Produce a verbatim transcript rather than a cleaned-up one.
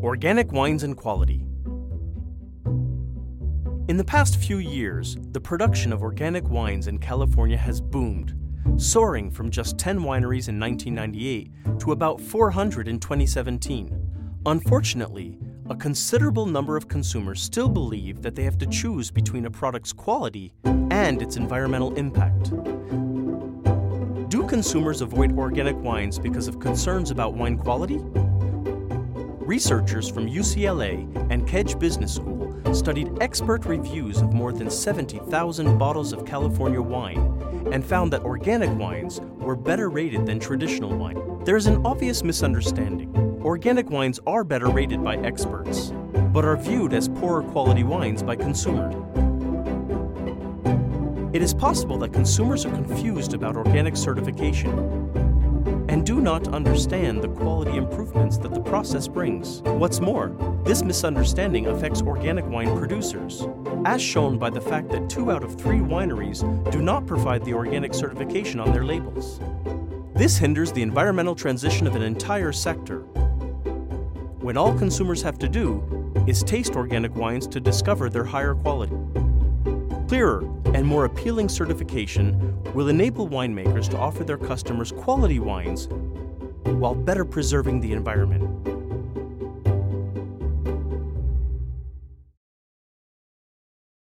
Organic wines and quality. In the past few years, the production of organic wines in California has boomed, soaring from just ten wineries in nineteen ninety-eight to about four hundred in twenty seventeen. Unfortunately, a considerable number of consumers still believe that they have to choose between a product's quality and its environmental impact. Do consumers avoid organic wines because of concerns about wine quality? Researchers from U C L A and Kedge Business School studied expert reviews of more than seventy thousand bottles of California wine and found that organic wines were better rated than traditional wine. There is an obvious misunderstanding. Organic wines are better rated by experts, but are viewed as poorer quality wines by consumers. It is possible that consumers are confused about organic certification and do not understand the quality improvements that the process brings. What's more, this misunderstanding affects organic wine producers, as shown by the fact that two out of three wineries do not provide the organic certification on their labels. This hinders the environmental transition of an entire sector, when all consumers have to do is taste organic wines to discover their higher quality. Clearer and more appealing certification will enable winemakers to offer their customers quality wines while better preserving the environment.